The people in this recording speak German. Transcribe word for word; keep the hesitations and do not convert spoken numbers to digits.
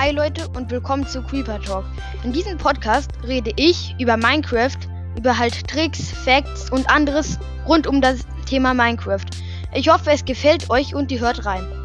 Hi Leute und willkommen zu Creeper Talk. In diesem Podcast rede ich über Minecraft, über halt Tricks, Facts und anderes rund um das Thema Minecraft. Ich hoffe, es gefällt euch und ihr hört rein.